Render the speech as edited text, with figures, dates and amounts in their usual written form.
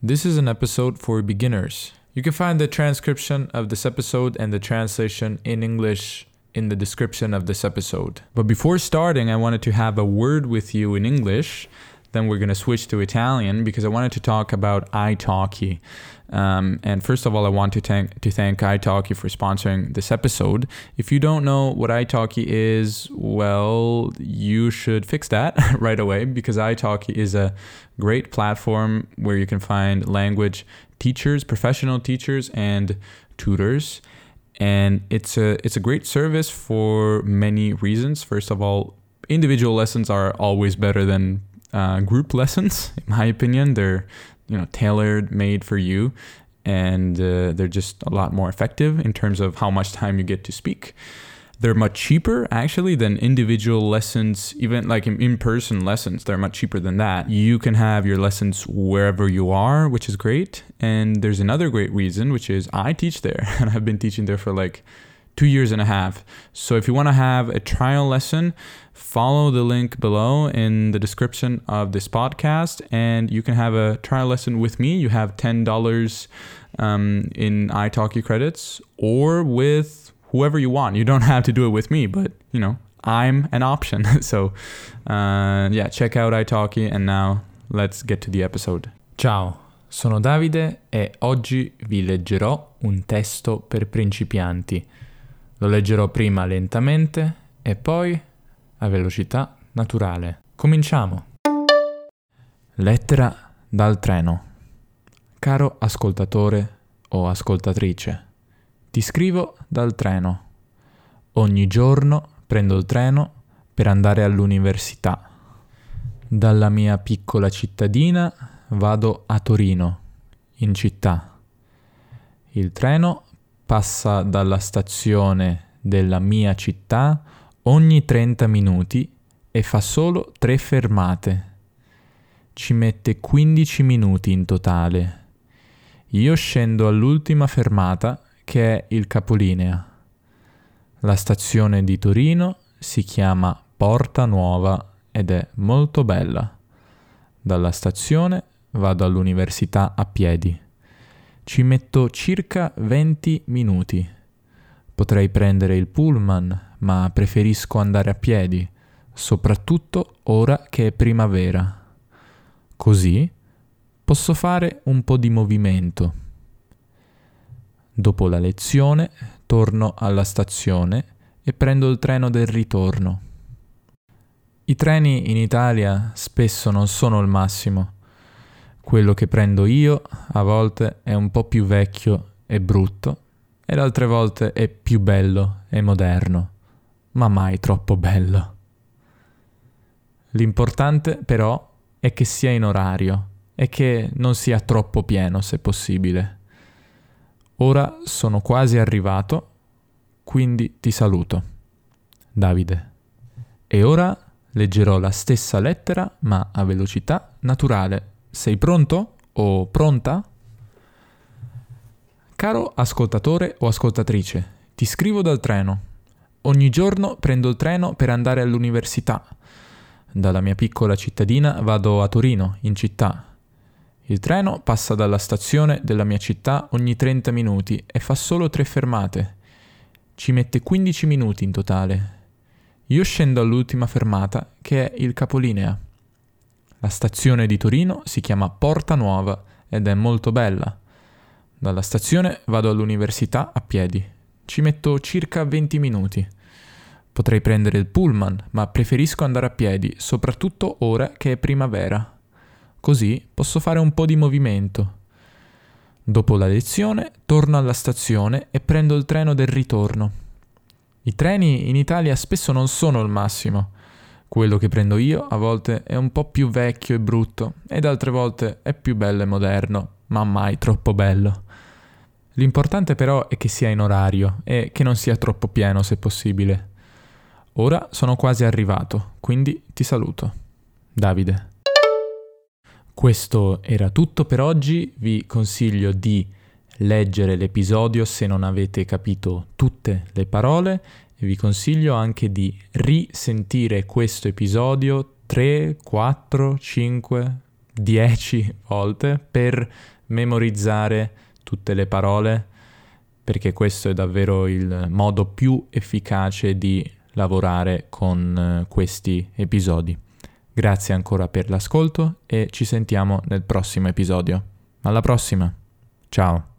This is an episode for beginners. You can find the transcription of this episode and the translation in English in the description of this episode. But before starting, I wanted to have a word with you in English. Then we're going to switch to Italian because I wanted to talk about italki. And first of all, I want to thank italki for sponsoring this episode. If you don't know what italki is, well, you should fix that right away because italki is a great platform where you can find language teachers, professional teachers, and tutors. And it's a great service for many reasons. First of all, individual lessons are always better than group lessons, in my opinion. They're tailored, made for you, and they're just a lot more effective in terms of how much time you get to speak. They're much cheaper, actually, than individual lessons, even like in-person lessons. They're much cheaper than that. You can have your lessons wherever you are, which is great. And there's another great reason, which is I teach there, and I've been teaching there for like 2.5 years. So if you want to have a trial lesson, follow the link below in the description of this podcast, and you can have a trial lesson with me. You have $10 in italki credits, or with whoever you want. You don't have to do it with me, but I'm an option. So check out italki, and now let's get to the episode. Ciao, sono Davide e oggi vi leggerò un testo per principianti. Lo leggerò prima lentamente e poi a velocità naturale. Cominciamo! Lettera dal treno. Caro ascoltatore o ascoltatrice, ti scrivo dal treno. Ogni giorno prendo il treno per andare all'università. Dalla mia piccola cittadina vado a Torino, in città. Il treno passa dalla stazione della mia città ogni 30 minuti e fa solo 3 fermate. Ci mette 15 minuti in totale. Io scendo all'ultima fermata, che è il capolinea. La stazione di Torino si chiama Porta Nuova ed è molto bella. Dalla stazione vado all'università a piedi. Ci metto circa 20 minuti. Potrei prendere il pullman, ma preferisco andare a piedi, soprattutto ora che è primavera. Così posso fare un po' di movimento. Dopo la lezione torno alla stazione e prendo il treno del ritorno. I treni in Italia spesso non sono il massimo. Quello che prendo io a volte è un po' più vecchio e brutto ed altre volte è più bello e moderno, ma mai troppo bello. L'importante però è che sia in orario e che non sia troppo pieno se possibile. Ora sono quasi arrivato, quindi ti saluto. Davide. E ora leggerò la stessa lettera ma a velocità naturale. Sei pronto o pronta? Caro ascoltatore o ascoltatrice, ti scrivo dal treno. Ogni giorno prendo il treno per andare all'università. Dalla mia piccola cittadina vado a Torino, in città. Il treno passa dalla stazione della mia città ogni 30 minuti e fa solo 3 fermate. Ci mette 15 minuti in totale. Io scendo all'ultima fermata, che è il capolinea. La stazione di Torino si chiama Porta Nuova ed è molto bella. Dalla stazione vado all'università a piedi. Ci metto circa 20 minuti. Potrei prendere il pullman, ma preferisco andare a piedi, soprattutto ora che è primavera. Così posso fare un po' di movimento. Dopo la lezione torno alla stazione e prendo il treno del ritorno. I treni in Italia spesso non sono il massimo. Quello che prendo io a volte è un po' più vecchio e brutto ed altre volte è più bello e moderno, ma mai troppo bello. L'importante però è che sia in orario e che non sia troppo pieno se possibile. Ora sono quasi arrivato, quindi ti saluto. Davide. Questo era tutto per oggi. Vi consiglio di leggere l'episodio se non avete capito tutte le parole e vi consiglio anche di risentire questo episodio 3, 4, 5, 10 volte per memorizzare tutte le parole, perché questo è davvero il modo più efficace di lavorare con questi episodi. Grazie ancora per l'ascolto e ci sentiamo nel prossimo episodio. Alla prossima! Ciao!